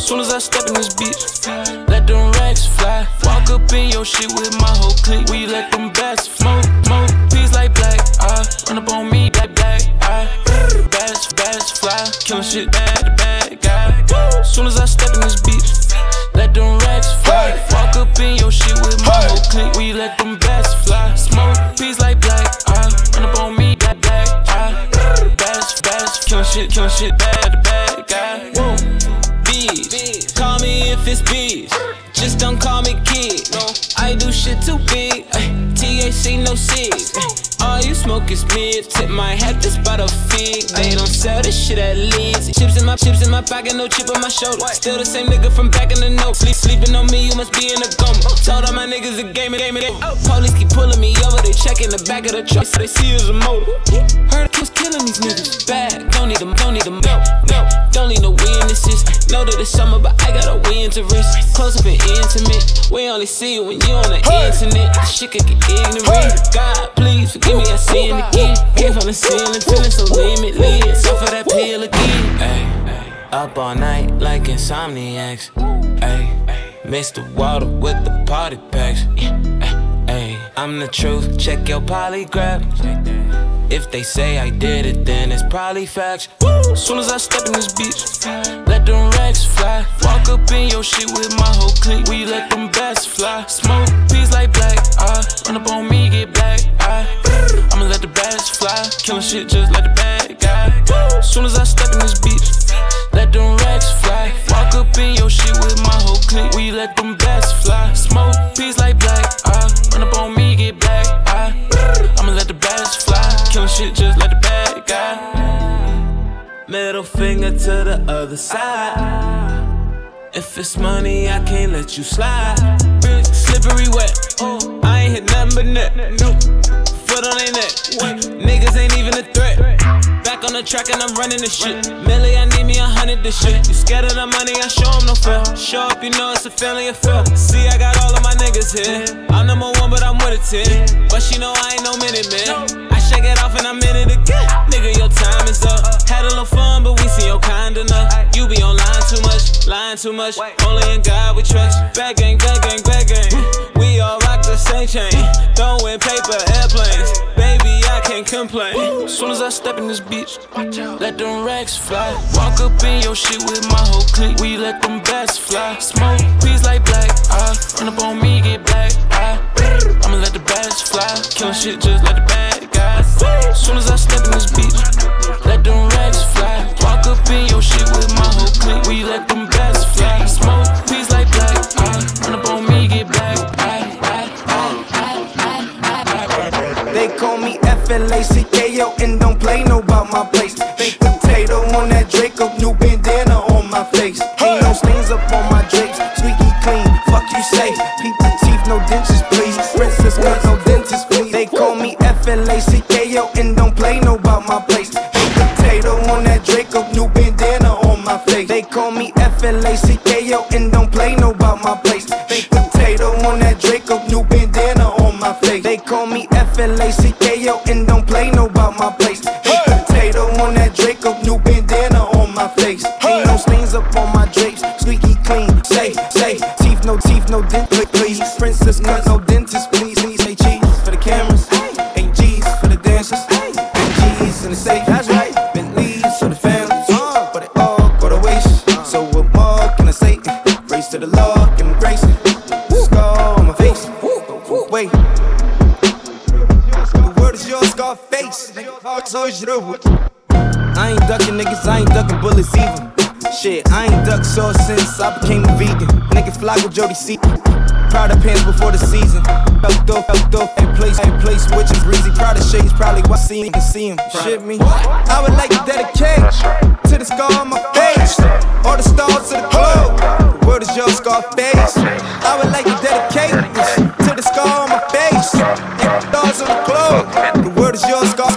Soon as I step in this bitch, let them racks fly. Walk up in your shit with my whole clique. We let them bats smoke, peas like black. Run up on me, black. Bats fly. Killing shit bad guy. Soon as I step in this bitch, let them racks fly. Walk up in your shit with my whole clique. We let them bats fly. Smoke peas like black. Run up on me, black. Bats. Killing shit bad guy. Whoa. Bees, call me if it's bees. Just don't call me kid. No, I do shit too big. THC, no cigs. All you smoke is mid. Tip my hat just by the fig. They don't sell this shit at Leeds. Chips in my pocket, no chip on my shoulder. Still the same nigga from back in the note. Sleeping on me, you must be in a coma. Told all my niggas a game. Police keep pulling me over, they checking the back of the truck, so they see us a motor. Heard it was killing these niggas. Bad, don't need them. Don't need no witnesses. Know that it's summer, but I got a win to risk. Close up and intimate. We only see you when you on the internet. This shit could get ignorant. God, please forgive me, I sin again. Came from the ceiling, feeling so limitless. Off of that pill again. Ay, up all night like insomniacs. Ay, mix the water with the party packs. Ay, I'm the truth, check your polygraph. If they say I did it, then it's probably facts. Soon as I step in this bitch, let them racks fly. Walk up in your shit with my whole clique. We let them bats fly. Smoke peas like black. Run up on me, get black. I'ma let the bats fly. Killing shit just like the bad guy. Soon as I step in this bitch, let them racks fly. Walk up in your shit with my whole clique. We let them bats fly. Smoke peas like black. Run up on me, get black. I'ma let the bats fly. Killing shit just like the bad guy. Middle finger to the other side. If it's money, I can't let you slide. Slippery wet. I ain't hit nothing but net. Foot on their neck. Niggas ain't even a threat. Back on the track and I'm running this shit. Millie, I need me 100 this shit. You scared of the money, I show them no fear. Show up, you know it's a family affair. See, I got all of my niggas here. I'm number one, but I'm with it 10. But she know I ain't no minute, man. I shake it off and I'm in it again. Nigga, your time is up. Had a little fun, but we see your kind enough. You be online too much, lying too much. Only in God we trust. Bad gang. We all rock the same chain. Throwing paper, airplanes. Baby, I can't complain. Soon as I step in this bitch, let them racks fly. Walk up in your shit with my whole clique. We let them bats fly. Smoke peas like black. Run up on me, get black. I'ma let the bats fly. Killing shit just like the bad guys. Soon as I step in this bitch, let them racks fly. Walk up in your shit with my whole clique. We let them bats fly. Smoke peas like black. Run up on me, get black. They call me FLACKO and don't play no about my place. Baked potato on that Draco, new bandana on my face. Ain't no stains up on my drapes, squeaky clean. Fuck you say, peep the teeth, no dentures please. Princess cut, no dentist please. They call me FLACKO and don't play no about my place. Baked potato on that Draco, new bandana on my face. They call me FLACKO and don't play no about my place. Baked potato on that Draco, new bandana on my face. They call me FLACKO and don't play no about my place. Baked potato on that Draco, new bandana on my face. Ain't no stains up on my drapes, squeaky clean. Say, teeth, no dent, please. Princess cut, no dentist, please. Say cheese for the cameras, 8 G's for the dancers, 8 G's in the safe. That's right, Bentleys for the families, but it all go to waste. So what more can I say? Race to the Lord, give him grace. Scar on my face. Wait. Scarface, I ain't ducking niggas, I ain't ducking bullets either. Shit, I ain't ducked sauce since I became a vegan. Nigga fly with Jody C. Proud of pants before the season. Felt off, and place switching breezy. Proud of shades, probably what see him. Shit me. I would like to dedicate to the scar on my face. All the stars to the globe. The word is your Scarface. I would like to dedicate this to the scar on my face. Stars on the globe. The word is your Scarface.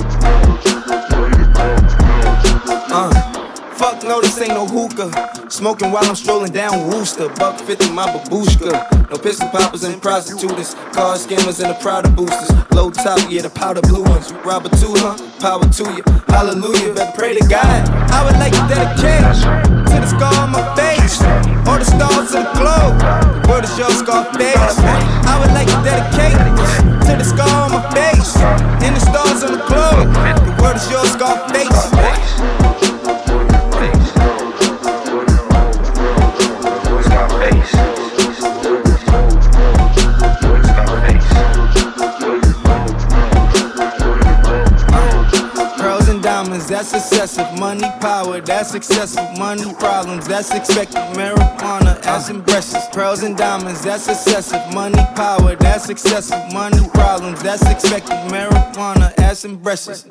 Fuck no, this ain't no hookah. Smoke smoking while I'm strolling down Wooster. $1.50 my babushka. No pistol poppers and prostitutes. Car scammers and the Prada boosters. Low top, yeah, the powder blue ones. You rob a two, huh? Power to you. Hallelujah, better pray to God. I would like to dedicate to the scar on my face, or the stars of the globe. The word is your Scarface. I would like to dedicate to the scar on my face, and the stars on the globe. The word is your Scarface. That's excessive. Money, power, that's excessive. Money, problems, that's expected. Marijuana, ass and breasts. Pearls and diamonds, that's excessive. Money, power, that's excessive. Money, problems, that's expected. Marijuana, ass and breasts.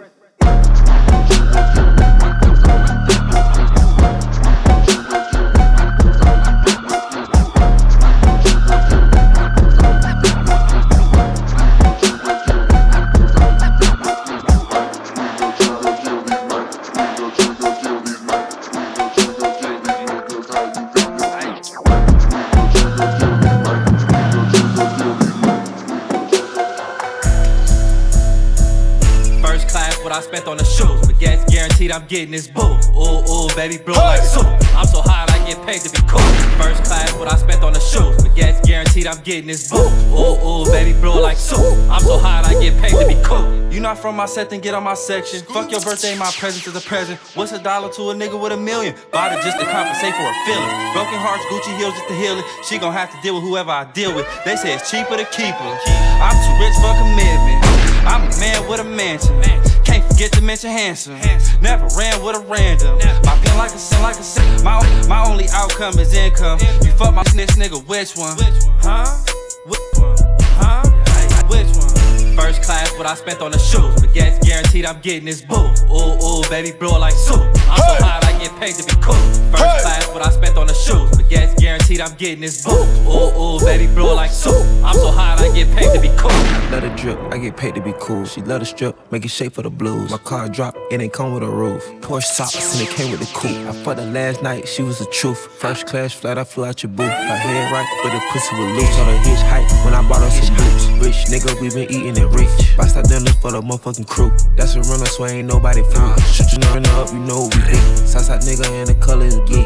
I spent on the shoes, but gas guaranteed I'm getting this boo. Ooh, ooh, baby, blow like soup. I'm so hot I get paid to be cool. First class, what I spent on the shoes, but gas guaranteed I'm getting this boo. Ooh, ooh, baby, blow like soup. I'm so hot I get paid to be cool. You not from my set, then get on my section. Fuck your birthday, my present is a present. What's $1 to a nigga with $1 million? Bought it just to compensate for her feelings. Broken hearts, Gucci heels just to heal it. She gon' have to deal with whoever I deal with. They say it's cheaper to keep her. I'm too rich for commitment. I'm a man with a mansion. Can't forget to mention handsome. Never ran with a random. My pen like a sin, like a sin. My only outcome is income. You fuck my snitch nigga, which one? Huh? Which one? Huh? Which one? First class, what I spent on the shoes, but gas guaranteed I'm getting this boo. Ooh, ooh, baby, blow like soup. I'm so hot I get paid to be cool. First class, what I spent on the shoes, but gas guaranteed I'm getting this boo. Ooh, ooh, baby, blow like soup. I'm so hot I get paid to be cool. Let her drip, I get paid to be cool. She let her strip, make it shake for the blues. My car drop, it ain't come with a roof. Porsche tops and it came with the coupe. I fucked her last night, she was the truth. First class flight, I flew out your booth. Her head right, but the pussy was loose. On the hitch height when I bought her some boots. Rich nigga, we been eating it rich. Bust out dinners for the motherfucking crew. That's a runner, so ain't nobody fool. Shoot you runner up, you know we hit. Southside nigga and the colors get.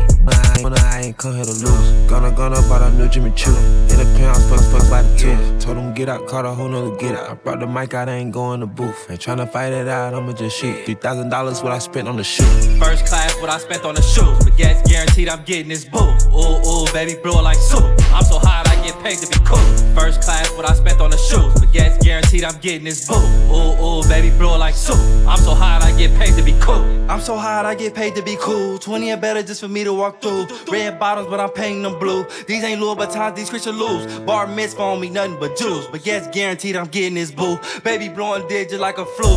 I ain't come here to lose. Gonna bought a new Jimmy Choo. In the pounds, fuck by the tooth. Told him get out, caught a whole nother get out. I brought the mic out, I ain't going to booth. Ain't tryna fight it out, I'ma just shoot. $3,000 what I spent on the shoe. First class, what I spent on the shoes, but gas guaranteed I'm getting this boo. Ooh, ooh, baby, blow like soup. I'm so hot I get paid to be cool. First class, what I spent on the shoes, but gas guaranteed I'm getting this boo. Ooh, ooh, baby, blow like soup. I'm so hot I get paid to be cool. I'm so hot I get paid to be cool. 20 and better just for me to walk through. Red bottoms, but I'm painting them blue. These ain't Louis Vuittons, these Christian Louis. Bar mitzvah on me, nothing but Jews. But gas guaranteed I'm getting this boo. Baby blowing digit like a flu.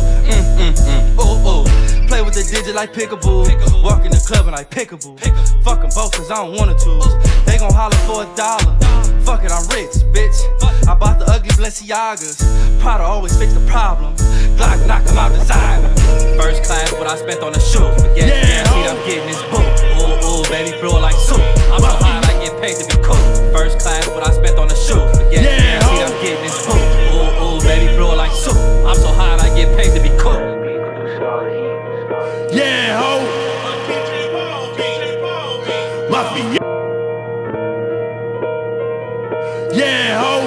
Ooh, ooh. Play with the digit like Pickaboo. Walk in the club and I Pickaboo. Fuck them both cause I don't wanna choose. They gon' holler for $1. Fuck it, I'm rich, bitch. I bought the ugly Balenciagas. Prada always fix the problem. Glock knock 'em out designer. First class, what I spent on the shoes. But gas guaranteed I'm getting this boo. Ooh, ooh, baby, blow like soup. I'm so hot I get paid to be cool. First class, what I spent on the shoes. But gas guaranteed I'm getting this boo. Ooh, ooh, baby, blow like soup. I'm so hot I get paid to be cool. Yeah, ho. Mafia. Yeah, ho.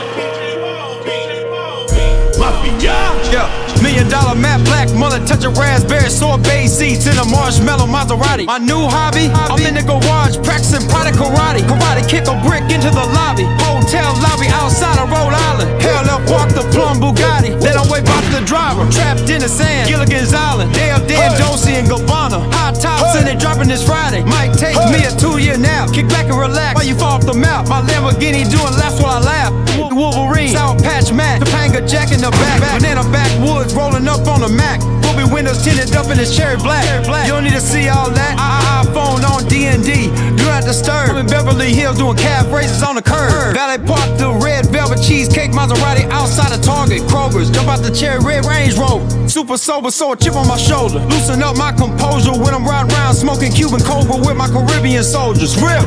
Mafia. Yeah. $1 million matte black mullet, touch of raspberry sorbet seeds in a marshmallow Maserati. My new hobby, I'm in the garage practicing product karate. Karate kick a brick into the lobby. Hotel lobby outside of Rhode Island. Hell up, walk the plum Bugatti. Then I wait back to the driver, trapped in the sand. Gilligan's Island, Dale, Dan, Josie, and Gabbana. High tops and they dropping this Friday. Might take me a 2-year nap. Kick back and relax while you fall off the map. My Lamborghini doing laps while I laugh. Wolverine, Sour Patch Matt, Topanga Jack in the back. Banana backwoods rolling up on the Mac. Ruby windows tinted up in this cherry black. You don't need to see all that. iPhone on D&D. Do not disturb. I'm in Beverly Hills doing calf races on the curb. Valet Park, the red velvet cheesecake Maserati outside of Target, Kroger's. Jump out the cherry red Range Rover. Super sober, so a chip on my shoulder. Loosen up my composure when I'm riding around smoking Cuban Cobra with my Caribbean soldiers. Real.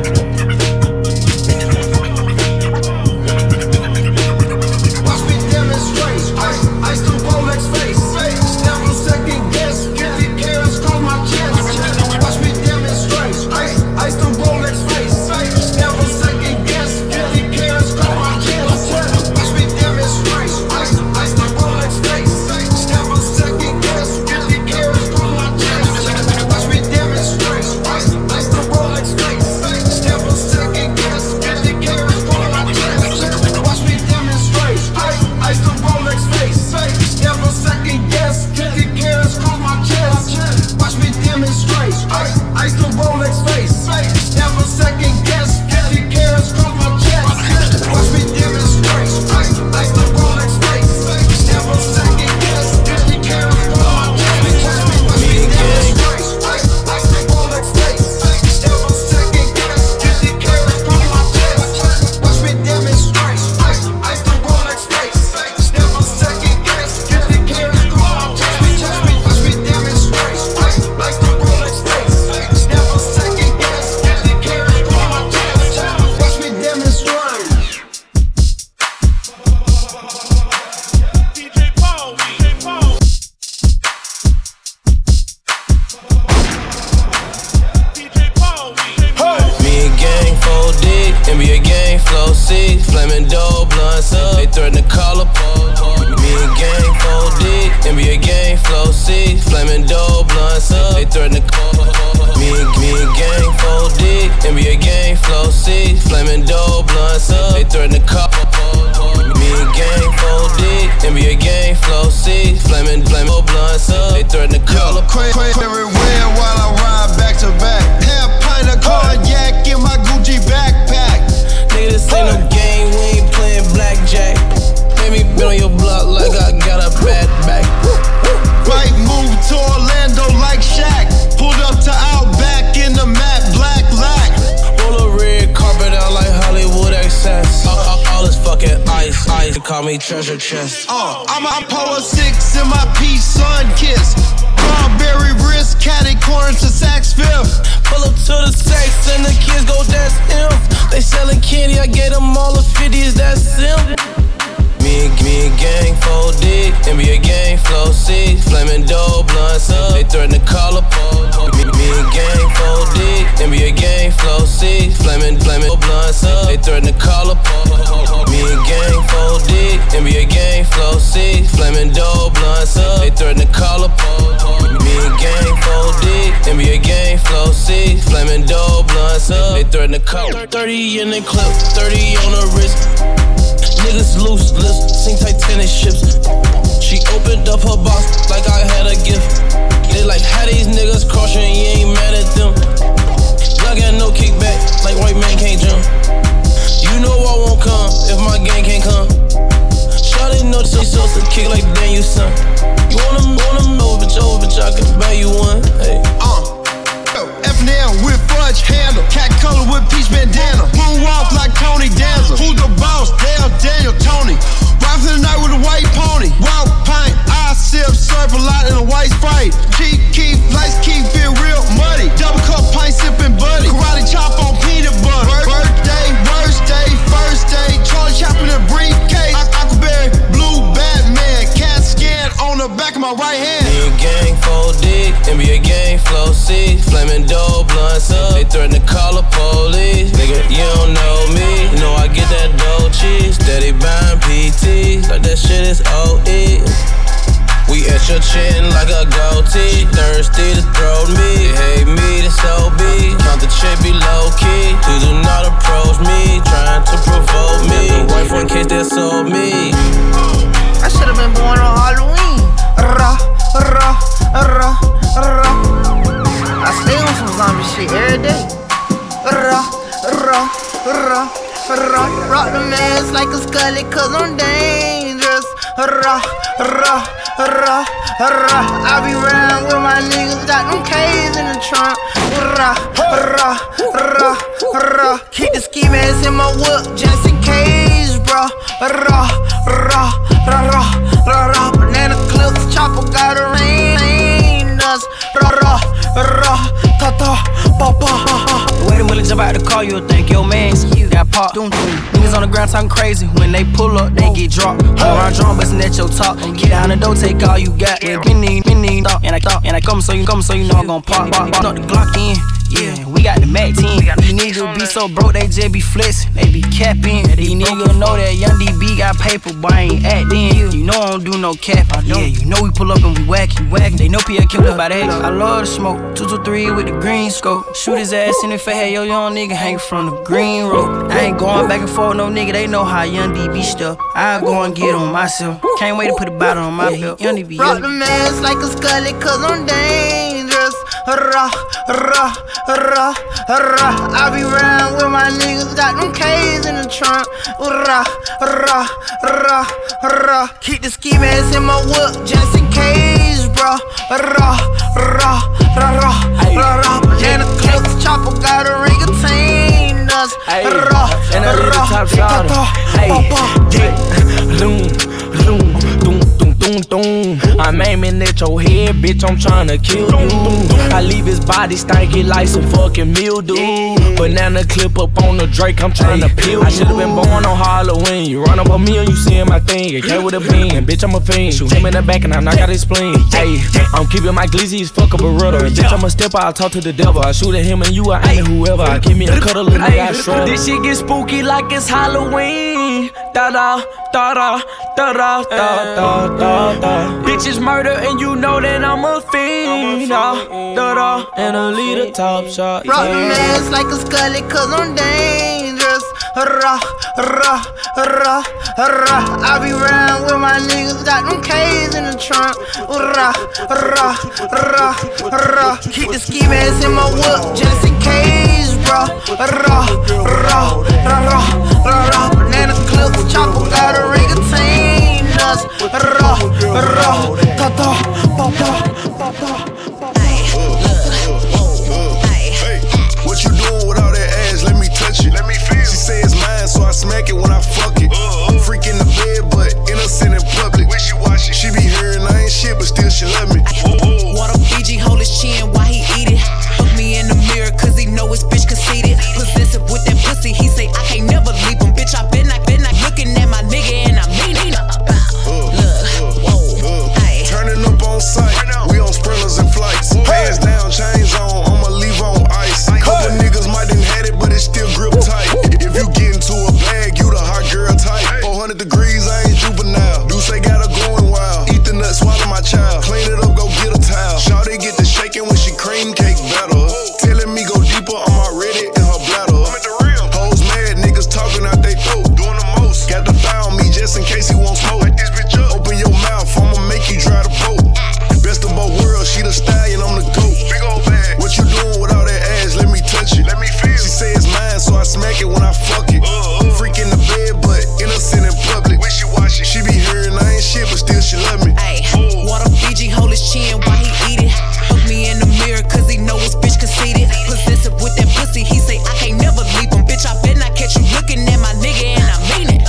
Watch me demonstrate. Ice to Rolex face. Never second guess. 50 carats cross my chest. Watch me demonstrate. Ice to Rolex face. Never second guess. 50 carats cross my chest. Watch me demonstrate. Ice to Rolex face. Never second guess. 50 carats cross my chest. Watch me demonstrate. Ice to Rolex face. Never second guess. 50 carats cross my chest. Watch me demonstrate. Ice to Rolex face. Never second guess. 50 carats cross my chest. Watch me demonstrate. Ice to Rolex face. Never second guess. 50 carats cross my chest. Watch me demonstrate. Ice to Rolex face. Never second guess. 50 carats cross my chest. Watch me demonstrate. Ice to Rolex face. Never second guess. 50 carats cross my chest. Watch me demonstrate. Ice to Rolex face. Never second guess. 50 carats cross my chest. Watch me demonstrate. Ice to Rolex face. Never second guess. 50 carats cross my chest. Watch me demonstrate. DJ Paul. Me and gang 4D, NBA gang flow 6, flaming dope, blunts up, they threaten to call a pole. Me and gang 4D, NBA gang flow 6, flaming dope, blunts up, they threaten to call. Me and gang 4D, NBA gang flow 6, flaming dope, blunts up, they threaten to call. Me and gang 4D, NBA gang flow 6, flaming dope, blunts up, they threaten to call a pole. Everywhere while I ride back to back. Half pint of cognac in my Gucci backpack. Nigga, this ain't no game, we ain't playing blackjack. Made me been on your block like I got a bad back. Right move to Orlando like Shaq. Pulled up to Outback in the matte black lack. Roll a red carpet out like Hollywood excess. All this fucking ice, they call me treasure chest. I'm Power 6 in my peach sun kiss. Strawberry wrist, catty corn to Saks Fifth. Pull up to the sex and the kids go, that's him. They selling candy, I gave them all the 50s, that's simple. Me and gang 4D, NBA gang flow 6, flaming dope, blunts up, they threaten to call a pole. Me and gang 4D, NBA gang flow 6, flaming blunts up, they threaten to call a pole. Me and gang 4D, NBA gang flow 6, flaming dope, blunts up, they threaten to call a pole. Me and gang 4D, NBA gang flow 6, flaming dope, blunts up, they threaten to call. 30 in the clip, 30 on the wrist. Niggas loose, sing Titanic ships. She opened up her box like I had a gift. They like, how these niggas crossing, you ain't mad at them. Y'all got no kickback, like white man can't jump. You know I won't come if my gang can't come. Shawty know so kick like Daniel son. You wanna know, bitch, I can buy you one. Hey. F&L with fudge handle. Cat color with peach bandana. Moonwalk like Tony Danza. Who's the boss? Daniel Tony. Ride for the night with a white pony. Wild pint, I sip, serve a lot in a white Sprite. Keep, lights keep it real muddy. Double cup pint sipping buddy. Karate chop on peanut butter. Birthday, worst day, first day. Charlie Chaplin in a briefcase. Aquaberry, blue Batman. Cat scan on the back of my right hand. Me and gang 4D, NBA gang flow 6, flaming dope, blunts up, they threaten to call the police. Nigga, you don't know me, you know I get that dough cheese. Steady buying PTs, like that shit is OE. We at your chin like a goatee. Thirsty to throw me, hate me, that's OB. Count the chick be low key. Please do not approach me, trying to provoke me. The wife in case they sold me. I should've been born on Halloween. I stay on some zombie shit every day. Rock the mask like a scully, cause I'm dangerous. I be round with my niggas, got them K's in the trunk. Keep the ski mask in my whip, just in case, bruh. call, you'll think your man's got popped. Niggas on the ground talking crazy. When they pull up, they get dropped. All around drum, bustin' at your top. Get down the door, take all you got. Mini, thought, and I come so you know I'm gon' pop. Knock the Glock in. Yeah, we got the Mac 10. These niggas be so broke, they just be flexin'. They be capping. These niggas know that Young DB got paper, but I ain't actin'. You know I don't do no cap. Yeah, you know we pull up and we whackin'. They know P.A. killed us by the hex. I love the smoke. 223 with the green scope. Shoot his ass in the face. Hey, yo, young nigga hang from the green road. I ain't going back and forth, no nigga. They know how Young DB stuff. I go and get on myself. Can't wait to put a bottle on my belt. Young DB. Rock the mask like a scully, cause I'm dangerous. Rah, rah, rah, rah. I be round with my niggas, got them K's in the trunk. Rah, rah, rah, rah. Keep the ski mask in my whip just in case, bro. Rah, rah, rah, rah, rah. Banana clips, chopper got a ring of chain us. Rah, and I leave the top shot. I'm aiming at your head, bitch, I'm tryna kill you. I leave his body stanky like some fucking mildew. Banana clip up on the Drake, I'm tryna peel. I should've been born on Halloween. You run up on me and you seeing my thing. It came with a beam, bitch, I'm a fiend. Shoot him in the back and I knock out his spleen. Hey, I'm keeping my glizzy as fuck up a rudder. And bitch, I'm a stepper, I'll talk to the devil. I shoot at him and you, I aim at whoever. I give me a cuddle and nigga, I shrug. This shit get spooky like it's Halloween. Da-da, da-da, da-da, da-da, da-da. Bitches murder and you know that I'm a fiend. Da-da, and I lead a top shot. Rock the mask like a scully, cause I'm dangerous. Rah, rah, rah, rah. I be round with my niggas, got them K's in the trunk. Rah, rah, rah, rah. Keep the ski mask in my whip just in case, bro. Rah, rah, rah, rah, rah. Banana clips, chopper got a ring of chain us. Rah, rah, ta ta, pa pa, pa pa. What you doing with all that ass? Let me touch it. Let me feel. She say it's mine, so I smack it when I fuck it. Freak in the bed, but innocent in public. Wishy-washy. She be hearing I ain't shit, but still she love me. Water Fiji hold his chin while he eat it. Look me in the mirror, cause he know his bitch conceited. Possessive with that pussy, he say I can't never leave him. Bitch, I been not looking at my nigga and I mean it. Turning up on sight, we on sprinters and flights. Hands down, chains on, I'ma leave on ice. Couple niggas might done had it, but it still grip tight. If you get into a bag, you the hot girl type. 400 degrees, I ain't juvenile. Do say got her going wild. Eat the nut, swallow my child. Clean it up, go get a towel. Shawty get the shaking when she cream cake better. Telling me go deeper, I'm already in her bladder. Hoes mad, niggas talking out they throat. Doing the most. Got the thigh on me just in case he won't smoke. Like this bitch up. Open your mouth, I'ma make you dry the boat. Best of both worlds, she the stallion, I'm the goat. Big old bag. What you doing with all that ass? Let me touch it. Let me feel. She say it's mine, so I smack it when I fuck it. Freak in the bed, but innocent in public. Wishy-washy. She be hearing I ain't shit, but still she love me. Ay, Water Fiji hold his chin while he eat it. Look me in the mirror, cause he know his bitch conceited. Possessive with that pussy, he say I can't never leave him. Bitch, I bet not catch you looking at my nigga and I mean it.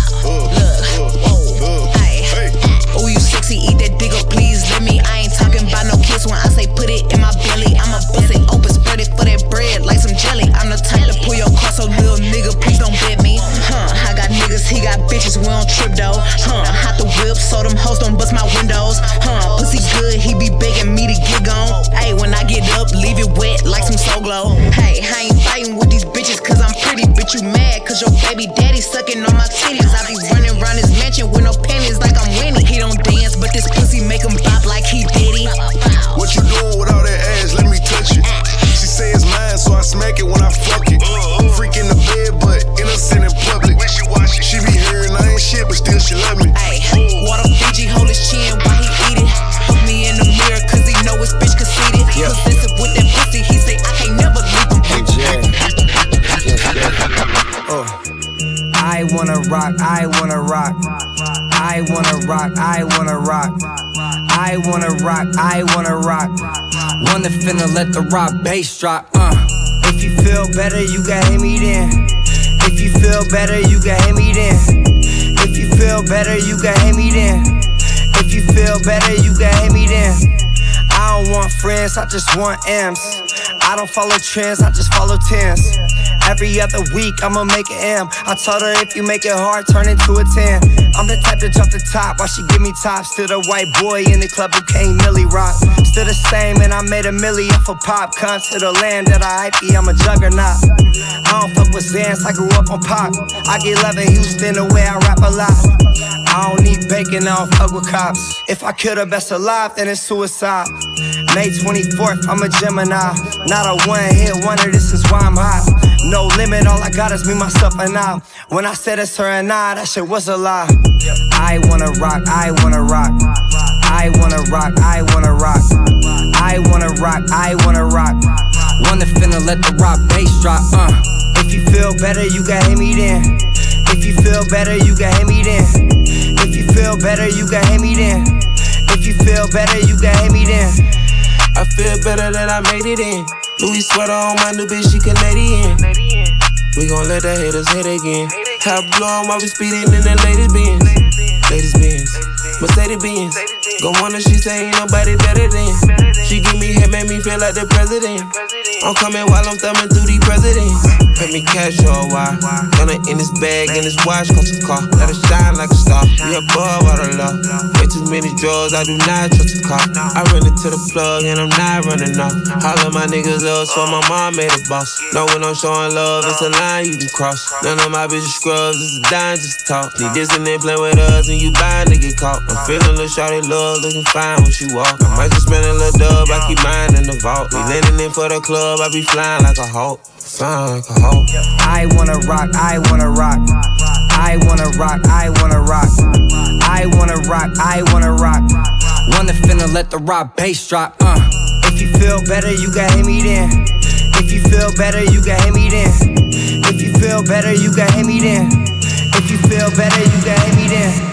Oh, you sexy, eat that dick up, please let me. I ain't talking about no kiss when I say put it in my belly. I'ma bust it open, spread it for that bread like some jelly. I'm the type to pull your car, so little nigga, please don't bet me. I got niggas, he got bitches, we don't trip though. Hot the whip, so them hoes don't bust my windows. Pussy good, he be begging me to get gone. Hey, when I get up, leave it wet like some Soul Glow. Hey, I ain't fighting with these bitches cause I'm pretty. Bitch, you mad cause your baby daddy sucking on my titties. I be running around his mansion with no panties like I'm winning. He don't dance, but this pussy make him bop like he did it. What you doing with all that ass? Let me touch it. She say it's mine, so I smack it when I fuck it. Freak in the bed, but innocent in public. Wishy-washy. She be hearing I ain't shit, but still she love me. Ay, Water Fiji hold his chin while he eat it. Look me in the mirror, cause he know his bitch conceited. Possessive with that pussy, he say I can't never leave him. I wanna rock, I wanna rock. I wanna rock, I wanna rock. I wanna rock, I wanna rock. Wanna finna let the rock bass drop. If you feel better, you can hit me then. If you feel better, you can hit me then. If you feel better, you can hit me then. If you feel better, you can hit me then. I don't want friends, I just want M's. I don't follow trends, I just follow tens. Every other week, I'ma make an M. I told her if you make it hard, turn it to a 10. I'm the type to jump the top while she give me tops. To the white boy in the club who can't Millie rock. Still the same, and I made a milli off a pop. Come to the land that I hype, I'm a juggernaut. I don't fuck with Zans, I grew up on pop. I get love in Houston the way I rap a lot. I don't need bacon, I don't fuck with cops. If I kill the best alive, then it's suicide. May 24th, I'm a Gemini. Not a one-hit wonder, this is why I'm hot. No limit, all I got is me, myself, and I. When I said it's her and I, that shit was a lie. I wanna rock, I wanna rock. I wanna rock, I wanna rock. I wanna rock, I wanna rock. Wanna finna let the rock bass drop, If you feel better, you can hit me then. If you feel better, you can hit me then. If you feel better, you can hit me then. If you feel better, you can hit me then. I feel better that I made it in. Louis sweater on my new bitch, she Canadian. We gon' let the haters hit again. Top blow while we speeding in the latest Benz. Latest Benz, Mercedes Benz. Go on and she say ain't nobody better than. She give me head, make me feel like the president. I'm coming while I'm thumbing through these presidents. Pay me cash or a while. Gonna in this bag, in this watch, cost a car. Let it shine like a star. We above all the law. Way too many drugs, I do not trust a car. I run into the plug and I'm not running off. All of my niggas love, so my mom made a boss. Know when I'm showing love, it's a line you can cross. None of my bitches scrubs, it's a dime just talk. Need this and then play with us and you bound to get caught. I'm feeling little shawty love, looking fine when she walk. I might just spend a little dub, I keep mine in the vault. We landing in for the club, I be flying like a hawk. Flying like a hawk. I wanna rock, I wanna rock. I wanna rock, I wanna rock. I wanna rock, I wanna rock. Wanna finna let the rock bass drop, If you feel better, you can hit me then. If you feel better, you can hit me then. If you feel better, you can hit me then. If you feel better, you can hit me then.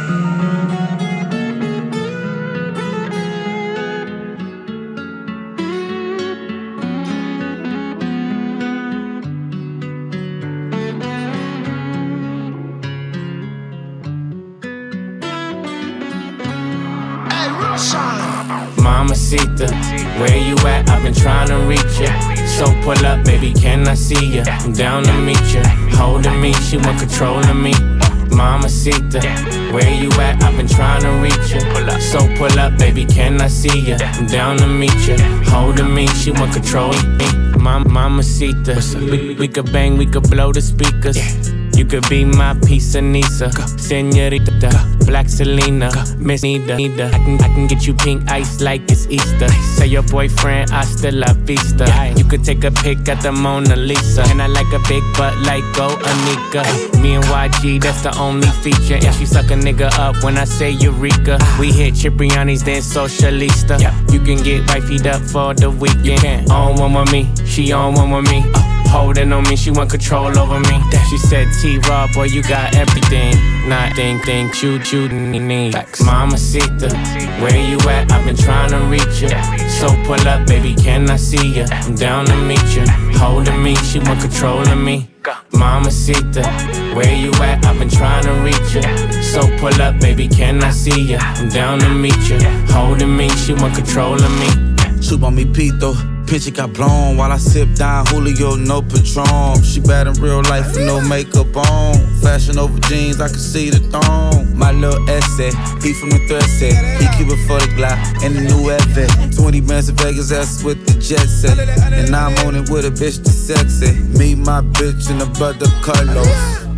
Mamacita, where you at? I've been trying to reach ya. So pull up, baby, can I see ya? I'm down to meet ya. Holding me, she want control of me. Mamacita, where you at? I've been trying to reach ya. So pull up, baby, can I see ya? I'm down to meet ya. Holding me, she want control of me. Mamacita, we could bang, we could blow the speakers. You could be my piece of Nisa, Senorita, Black Selena, Miss Nita. I can get you pink ice like it's Easter. Say your boyfriend, hasta la vista. You could take a pic at the Mona Lisa. And I like a big butt like Go Anika. Me and YG, that's the only feature. And she suck a nigga up when I say Eureka. We hit Cipriani's, then Socialista. You can get wifeyed up for the weekend. On one with me, she on one with me. Holding on me, she want control over me. She said, T-Raw, boy, you got everything. Nothing, you need. Mamacita, where you at? I've been trying to reach ya. So pull up, baby, can I see ya? I'm down to meet ya. Holding me, she want control of me. Mamacita, where you at? I've been trying to reach ya. So pull up, baby, can I see ya? I'm down to meet ya. Holding me, she want control of me. Chup on me, Pito. Picture got blown while I sip down Julio, no Patron. She bad in real life with no makeup on. Fashion over jeans, I can see the thong. My little essay, he from the thread set. He keep it for the Glock and the new Evan. 20 bands in Vegas, that's with the jet set. And I'm on it with a bitch that's sexy. Me, my bitch, and the brother Carlos.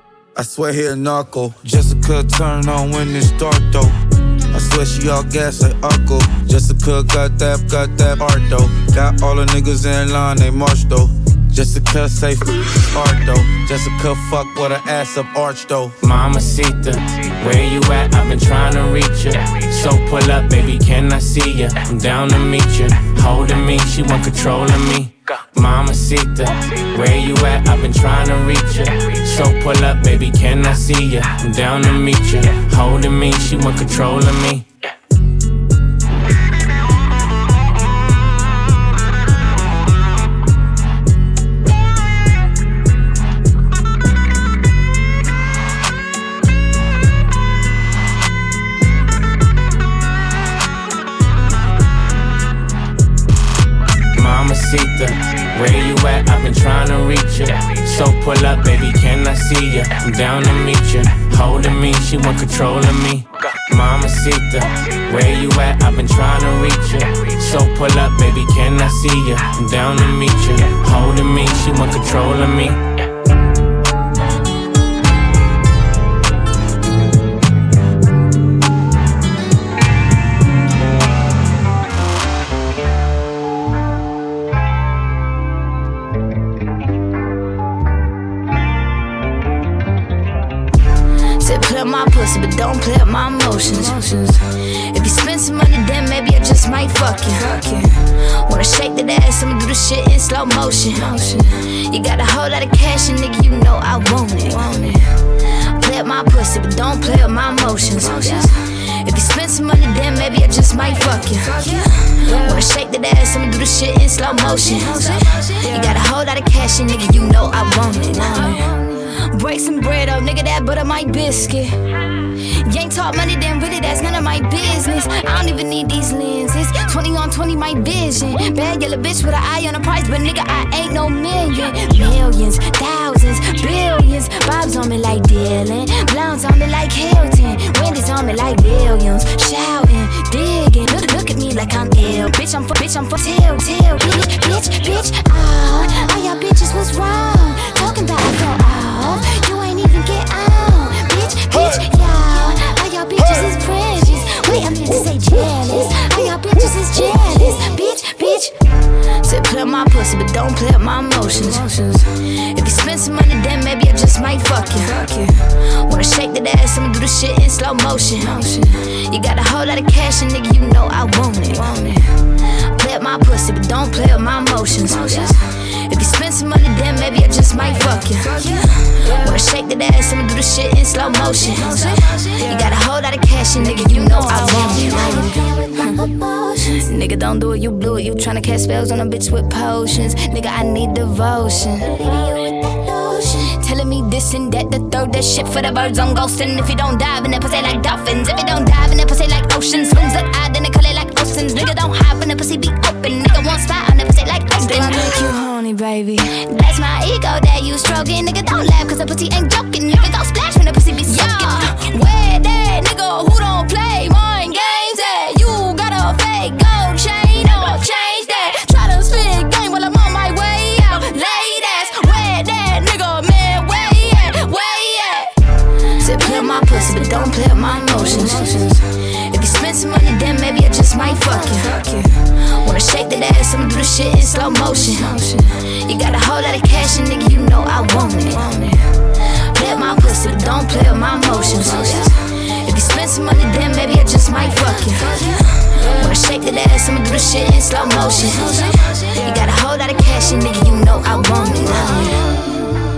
I swear he a narco. Jessica turn on when it's dark though. I swear she all gas like Uncle. Jessica got that art though. Got all the niggas in line, they march though. Jessica say art though. Jessica fuck with her ass up arch though. Mamacita, where you at? I've been trying to reach ya. So pull up, baby, can I see ya? I'm down to meet ya. Holding me, she want control of me. Mamacita, where you at? I've been trying to reach ya. So pull up, baby, can I see ya? I'm down to meet ya. Holding me, she want control of me. Mamacita, Where you at? I've been trying to reach you. So pull up, baby, can I see ya? I'm down to meet you. Holding me, she want control of me. Mamacita, where you at? I've been trying to reach you. So pull up, baby, can I see ya? I'm down to meet you. Holding me, she want control of me. My pussy, but don't play up my emotions. If you spend some money, then maybe I just might fuck you. Wanna shake that ass, I'ma do the shit in slow motion. You got a whole lot of cash, and nigga, you know I want it. Play up my pussy, but don't play up my emotions. If you spend some money, then maybe I just might fuck you. Wanna shake that ass, I'ma do the shit in slow motion. You got a whole lot of cash, and nigga, you know I want it. Break some bread up, nigga, that butter my biscuit. You ain't talk money, then really that's none of my business. I don't even need these lenses. 20 on 20 my vision. Bad yellow bitch with an eye on the price, but nigga I ain't no million. Millions, thousands, billions. Bob's on me like Dylan, Blondes on me like Hilton, Wendy's on me like billions. Shouting, digging, look at me like I'm ill. Bitch, I'm for till, bitch. All y'all bitches was wrong. Talking about I fell off. You ain't even get on. Bitch, y'all. All y'all bitches is precious. Wait, I meant to say jealous. All y'all bitches is jealous. Bitch. Said play up my pussy, but don't play up my emotions. If you spend some money, then maybe I just might fuck you. Wanna shake that ass, I'ma do the shit in slow motion. You got a whole lot of cash, and nigga, you know I want it. Play up my pussy, but don't play up my emotions. If you spend some money, then maybe I just might fuck you. Wanna shake that ass, I'ma do the shit in slow motion. You got a whole lot of cash, and nigga, you know I want it. Nigga, don't do it, you blew it. You tryna cast spells on a bitch with potions. Nigga, I need devotion. Telling me this and that, the third, that shit for the birds on ghosting. If you don't dive in that pussy like dolphins, if you don't dive in that pussy like oceans, swims look odd, then they call it like oceans. Nigga, don't hide when the pussy be open. Nigga, won't spot on the pussy like oceans. Do I make you horny, baby? That's my ego that you stroking. Nigga, don't laugh, cause the pussy ain't joking. Nigga, go splash when the pussy be soaking. Where that nigga who don't play mind games at? You got a fake gold chain, don't change that. Try to spit game while I'm on my way out. Ladies, where that nigga, man, where he at? Said play up my pussy, but don't play up my emotions. If you spend some money, then maybe I just might fuck you. Wanna shake that ass, I'ma do the shit in slow motion. You got a whole lot of cash, and nigga, you know I want it. Play up my pussy, but don't play up my emotions. If you spend some money, then maybe I just might fuck you. Wanna shake that ass, I'ma do the shit in slow motion. You got a whole lot of cash, and nigga, you know I want it.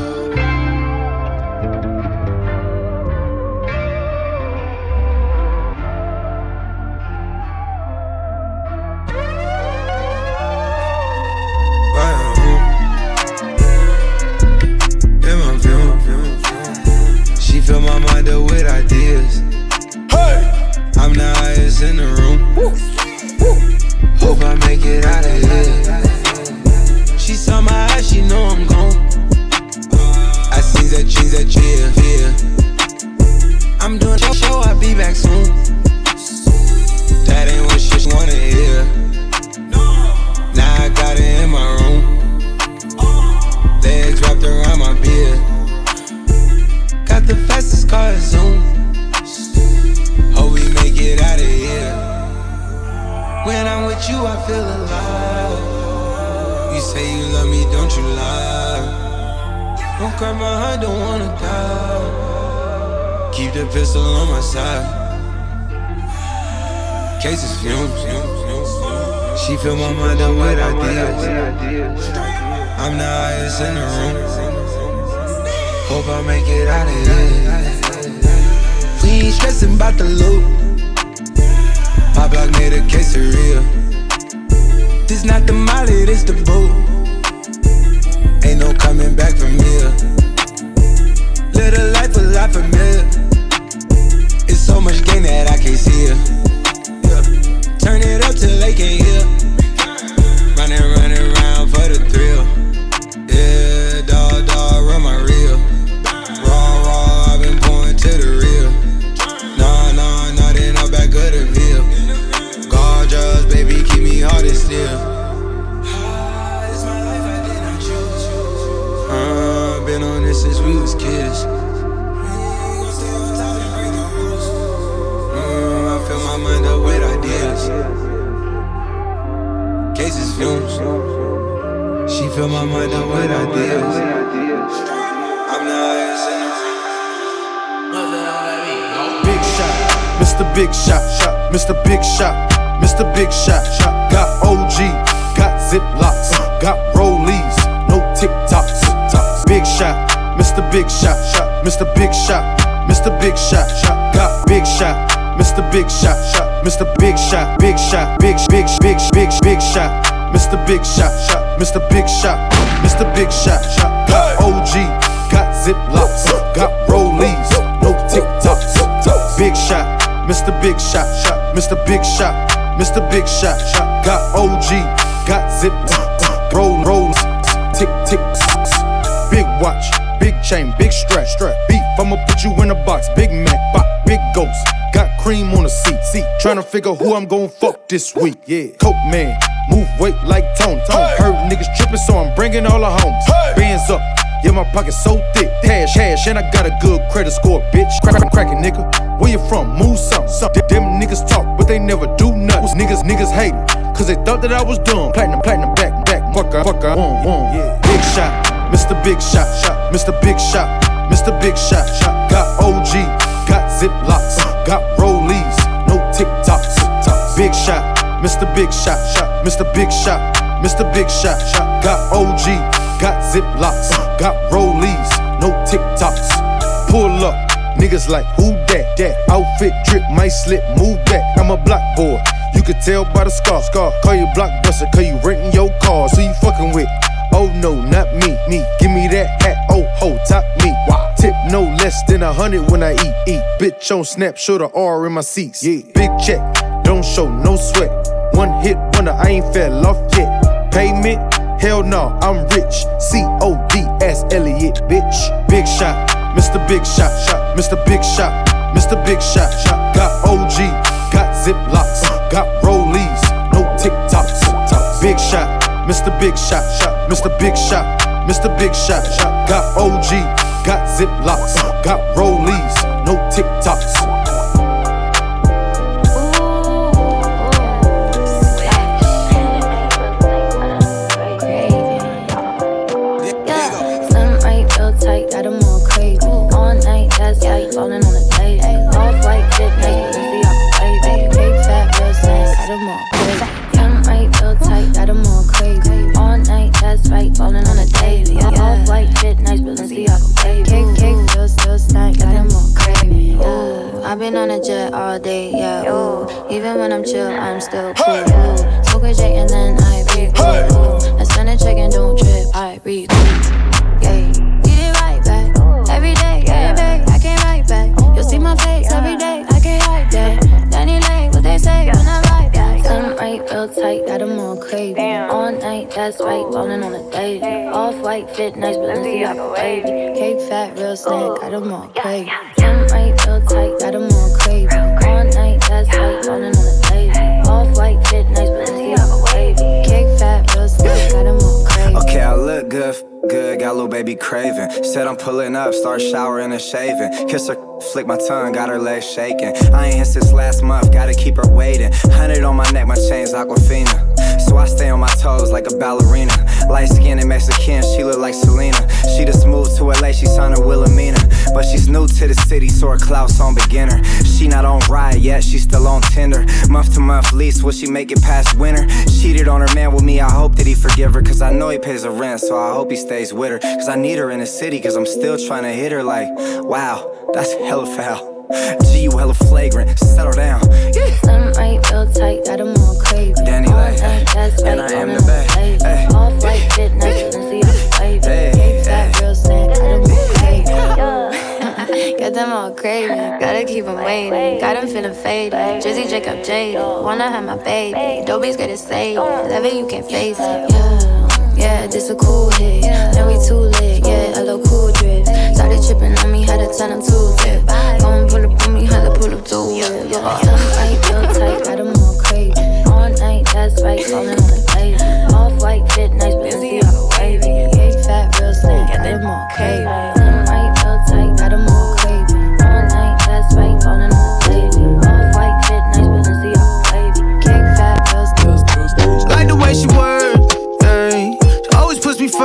Fill my mind up with ideas. Hey, I'm the highest in the room. Hope I make it out of here. She saw my eyes, she know I'm gone. I see that she's a cheer. I'm doing a show, I'll be back soon. That ain't what she wanna hear. Now I got it in my room. Legs wrapped around my beard. Got the fastest car, Zoom. Hope we make it out of here. When I'm with you, I feel alive. You say you love me, don't you lie? Don't cry my heart, don't wanna die. Keep the pistol on my side. Cases fumes. She fill my mind up with ideas. I'm the highest in the room. Hope I make it out of here. We ain't stressing about the loot. My block made a quesadilla. This not the molly, this the boot. Ain't no coming back from here. Live a life a lot familiar. It's so much gain that I can't see it. Yeah. Turn it up till they can't hear. Running around for the thrill. fill my mind up with ideas. I'm the highest in the room. Big shot, Mr. Big Shot, Mr. Big Shot, Mr. Big Shot. Got OG, got Ziplocs, got Rollies, no TikToks. Big shot, Mr. Big Shot, Mr. Big Shot, Mr. Big Shot. Got Big Shot, Mr. Big Shot, Mr. Big Shot, Big Shot, Big Shot, Mr. Big Shot, Mr. Big Shot, Mr. Big Shot. Got OG, got Ziplocs, got Rollies, no TikToks. Big shot, Mr. Big Shot, Mr. Big Shot, Mr. Big Shot. Got OG, got Ziplocs, rolls, tick. Big watch, big chain, big strap. Beef, I'ma put you in a box. Big Mac, big ghost. Got cream on the seat. Tryna figure who I'm gon' fuck this week. Yeah, Coke man, move weight like Tony. Heard niggas trippin', so I'm bringing all the homies. Bands up, yeah, my pocket's so thick. Cash, and I got a good credit score, bitch. Crackin' nigga, where you from? Move something. Them niggas talk, but they never do nothing. Niggas hate it, cause they thought that I was dumb. Platinum, back. Fucker, yeah. Big shot, Mr. Big Shot, Mr. Big Shot, Mr. Big Shot. Got OG, got Ziplocs, got Rollies, no TikToks. Big shot, Mr. Big Shot, Mr. Big Shot, Mr. Big Shot. Got OG, got Ziplocs, got Rollies, no TikToks. Pull up, niggas like who that? Outfit drip, might slip, move back. I'm a block boy, you could tell by the scar. Call you Blockbuster, cause you renting your car. So you fucking with, oh no, not me. Give me that hat, oh ho, top me. Wow. Tip no less than 100 when I eat. Bitch on snap, show the R in my seats. Yeah. Big check, don't show no sweat. One hit wonder, I ain't fell off yet. Payment, hell no, I'm rich. CODS Elliot, bitch. Big shot, Mr. Big Shot, Mr. Big Shot, Mr. Big Shot. Got OG, got Ziplocs, got Rollies, no TikToks. Big shot, Mr. Big Shot, Mr. Big Shot, Mr. Big Shot. Got OG, got Ziplocs, got Rollies, no TikToks. Got them all crazy. All night, that's like falling on the table. Off-white fit, nice, but see I'm baby. Big fat, real snacks, got them all crazy. Them right, real tight, got them all crazy. All night, that's right, falling on the table. Off-white fit, nice, but see I'm baby. Cake, real snack, got them all crazy. Ooh, I've been on a jet all day, yeah. Ooh, even when I'm chill, I'm still cool. Ooh, smoke a J and then I breathe. Ooh, I send a check and don't trip, I breathe. Yeah. Every day, yeah, I can't write back. You'll see my face every day, I can't hide that. Danny Lane, what they say when I write back. Some right, real tight, got them all crazy. All night, that's right, falling on a daily. Off-white fit, nice, but let's see I'm baby. Cake fat, real snack, got them all crazy. Some right, real tight, got them all crazy. All night, that's right, falling on a daily. Off-white fit, nice, but let's see I'm baby. Cake fat, real snack, got them all crazy. Okay, I look good, got a little baby craving. Said I'm pulling up, start showering and shaving. Kiss her, flick my tongue, got her legs shaking. I ain't hit since last month, gotta keep her waiting. 100 on my neck, my chain's Aquafina. So I stay on my toes like a ballerina. Light skinned and Mexican, she look like Selena. She just moved to LA, she signed her Wilhelmina. But she's new to the city, so her clout's on beginner. She not on ride yet, she still on Tinder. Month to month lease, will she make it past winter? Cheated on her man with me, I hope that he forgive her. Cause I know he pays her rent, so I hope he stays with her. Cause I need her in the city, cause I'm still trying to hit her like, wow, that's hella foul. G, you hella flagrant, settle down. Some right, real tight, got them all crazy. Danny Lay, and I am the babe. Off-white fit, nice, and see I'm baby. Cake fat, real snack, got them all crazy. Got them all crazy, gotta keep them waiting. Got them feeling faded, Drizzy, Jacob, jaded. Wanna have my baby, Dobie's gotta say it. Never you can face it, yeah, this a cool hit. Now we too lit, yeah, a little cool drip. Started tripping on me, had to turn them to a flip. Go and pull up on me, had to pull up to a whip. Some right, real tight, got them all crazy. All night, that's right, falling on the baby. Off-white fit, nice, but see I'm wavy. Cake fat, real snack, got them all crazy. Some right, real tight, got them all crazy. All night, that's right, falling on the baby. Off-white fit, nice, but see I'm wavy. Cake fat, real snack. Like the way she works, she always puts me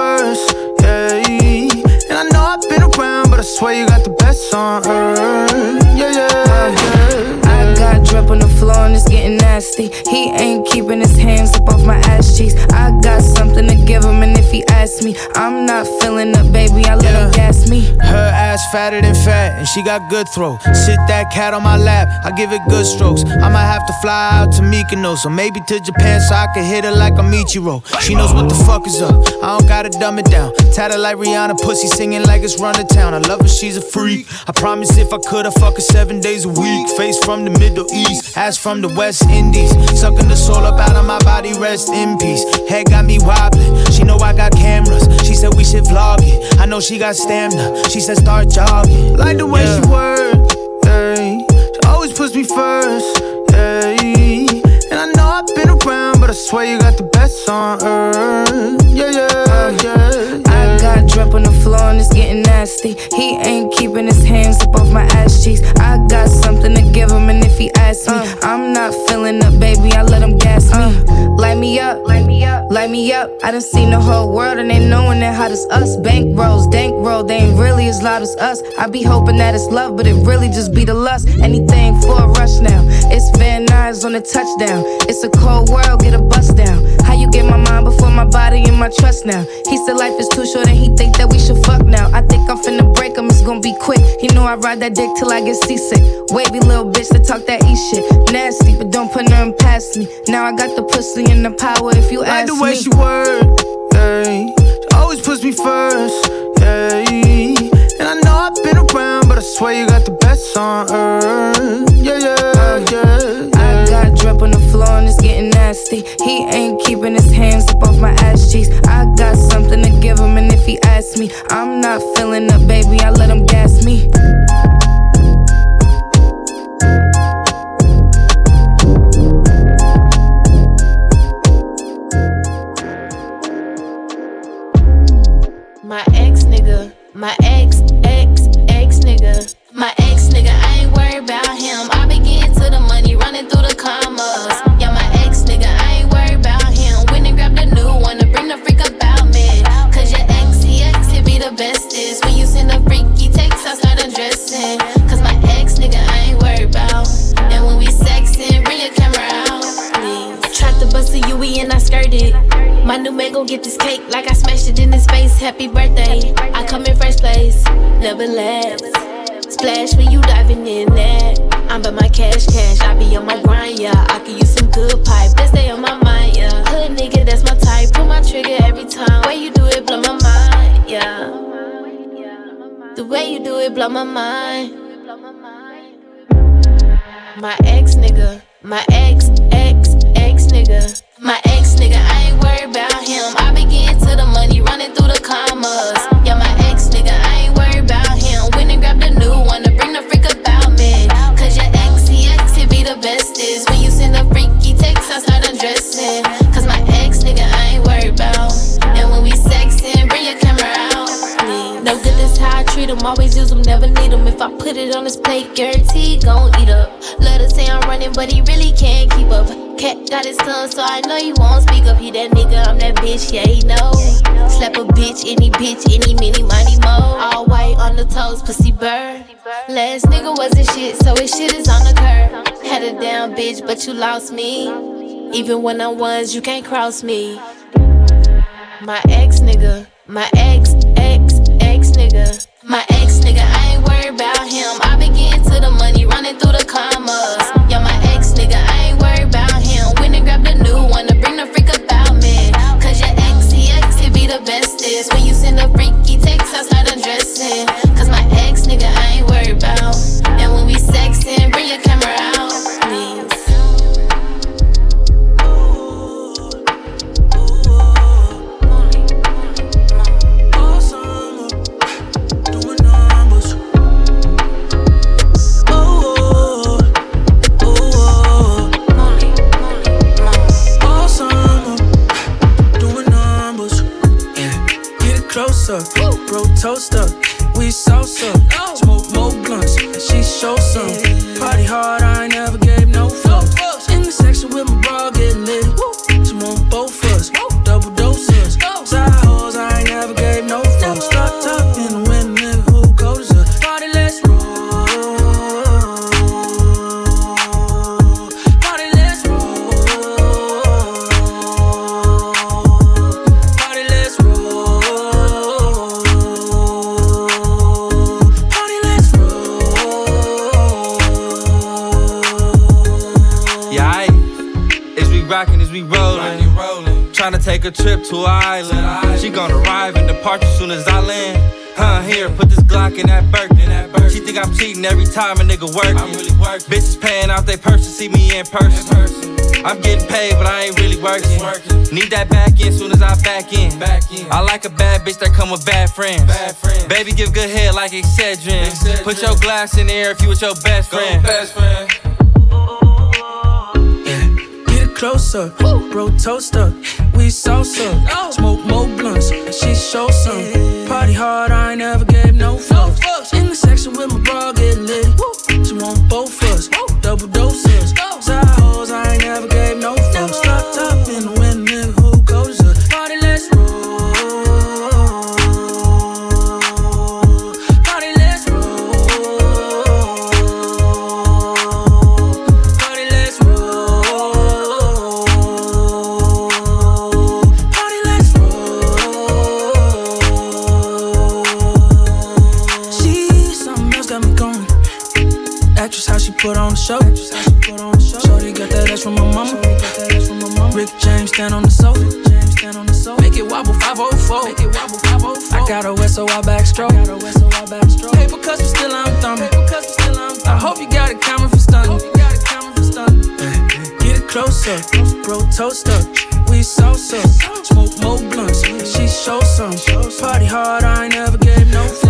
nasty. He ain't keeping his hands up off my ass cheeks. I got something to give him, and if he asks me, I'm not feeling up, baby, I let him gas me. Her ass fatter than fat, and she got good throw. Sit that cat on my lap, I give it good strokes. I might have to fly out to Mykonos, or maybe to Japan so I can hit her like a Michiro. She knows what the fuck is up, I don't gotta dumb it down. Tatted like Rihanna, pussy singing like it's run to town. I love her, she's a freak. I promise if I could, I'd fuck her 7 days a week. Face from the Middle East, ass from the West Indies. Sucking the soul up out of my body, rest in peace. Head got me wobbling, she know I got cameras. She said we should vlog it, I know she got stamina. She said start jogging. Like the way she work, hey. She always puts me first, hey. And I know I've been around, but I swear you got the best on earth. Yeah, yeah, yeah. I got drip on the floor and it's getting nasty. He ain't keeping his hands up off my ass cheeks. I got something to give him, and if he asks me, I'm not feeling up, baby, I let him gas me. Light me up, light me up, light me up. I done seen the whole world and they knowing that hot as us. Bank rolls, dank roll, they ain't really as loud as us. I be hoping that it's love, but it really just be the lust. Anything for a rush now. It's Van Nuys on the touchdown. It's a cold world, get a bust down. How you get my mind before my body and my trust now? He said life is too short and he think that we should fuck now. I think I'm finna break him, it's gonna be quick. He know I ride that dick till I get seasick. Wavy little bitch that talk that E shit. Nasty, but don't put nothing past me. Now I got the pussy and the power if you ask me. Like the way she work, hey. She always puts me first, hey. And I know I've been around, but I swear you got the best on earth. Yeah, yeah, yeah. I got drip on the floor and it's getting nasty. He ain't keeping his hands up off my ass cheeks. I got something to give him, and if he asks me, I'm not feeling up, baby, I let him gas me. My ex nigga, my ex nigga, my ex nigga, I ain't worried about him. I be getting to the money, running through the commas. Yeah, my ex nigga, I ain't worried about him. Went and grabbed a new one to bring the freak about me. Cause your ex, he be the bestest. When you send a freaky text, I start undressing. Cause my ex nigga, I ain't worried about. And when we sexing, bring your camera out, please. I tried to bust a UE and I skirted. My new man gon' get this cake like I smashed it in his face. Happy birthday, I come in first place, never last. Splash when you diving in there. I'm by my cash, I be on my grind, yeah. I can use some good pipe, that stay on my mind, yeah. Hood nigga, that's my type, pull my trigger every time. Way you do it, blow my mind, yeah. The way you do it, blow my mind. My ex nigga, my ex nigga. My ex nigga, I ain't worried about him. I be getting to the money, running through the commas. Yeah, my ex nigga, I ain't worried about him. Went and grabbed a new one to bring the freak about me. Cause your ex, he be the bestest. When you send a freaky text, I start undressing. Cause my ex nigga, I ain't worried about. And when we sexing, bring your camera out, please. No good, that's how I treat him. Always use him, never need him. If I put it on his plate, guarantee gon' eat up. Love to say I'm running, but he really can't keep up. Cat got his tongue, so I know he won't speak up. He that nigga, I'm that bitch, yeah, he know. Slap a bitch, any mini, money, mo. All white on the toes, pussy bird. Last nigga wasn't shit, so his shit is on the curb. Had a damn bitch, but you lost me. Even when I'm ones, you can't cross me. My ex nigga, my ex nigga. My ex nigga, I ain't worried about him. I be getting to the money, running through the commas. Yeah, my ex nigga, I ain't worried about him. Went and grabbed a new one to bring the freak about me. Cause your ex, he be the bestest. When you send a freaky text, I start undressing. Cause my ex nigga, I ain't worried about. And when we sexing, bring your camera out, please. Closer, bro, toaster, we salsa, smoke more blunts, and she show some. Party hard, I ain't never gave no fuck. In the section with my bra getting lit, she want both of us, double doses. Side hoes, I ain't never gave no fuck. Start talking when nigga who goes to party, let's roll. Party, let's roll. we rollin'. Tryna take a trip to an island. She gon' arrive and depart as soon as I land. Here, put this Glock in that Birkin. She think I'm cheating every time a nigga workin'. I'm really working. Bitches paying out they purse to see me in person. I'm getting paid, but I ain't really working. Need that back in soon as I back in. I like a bad bitch that come with bad friends. Baby, give good head like Excedrin. Put your glass in the air if you with your best friend. Get it closer, bro, toaster. We salsa, smoke more blunts. She show some. Party hard, I ain't never gave no fucks. In the section with my bra getting lit. She want both of us, double doses. Side hoes, I ain't never gave no fucks. Drop top in the wind, nigga, who goes to party? Let's roll. Party, let's roll. Party, let's roll. Party, let's roll. She something else got me going. Actress, how she put on the show. Shorty got that ass from my mama. Rick James stand on the sofa. Make it wobble 504. I got a west, so I backstroke. Paper cuts, but still I'm thumbing. I hope you got a camera for stunning. Get it closer, bro, toaster. We salsa, smoke more blunts. She show some. Party hard, I ain't never gave no fuck.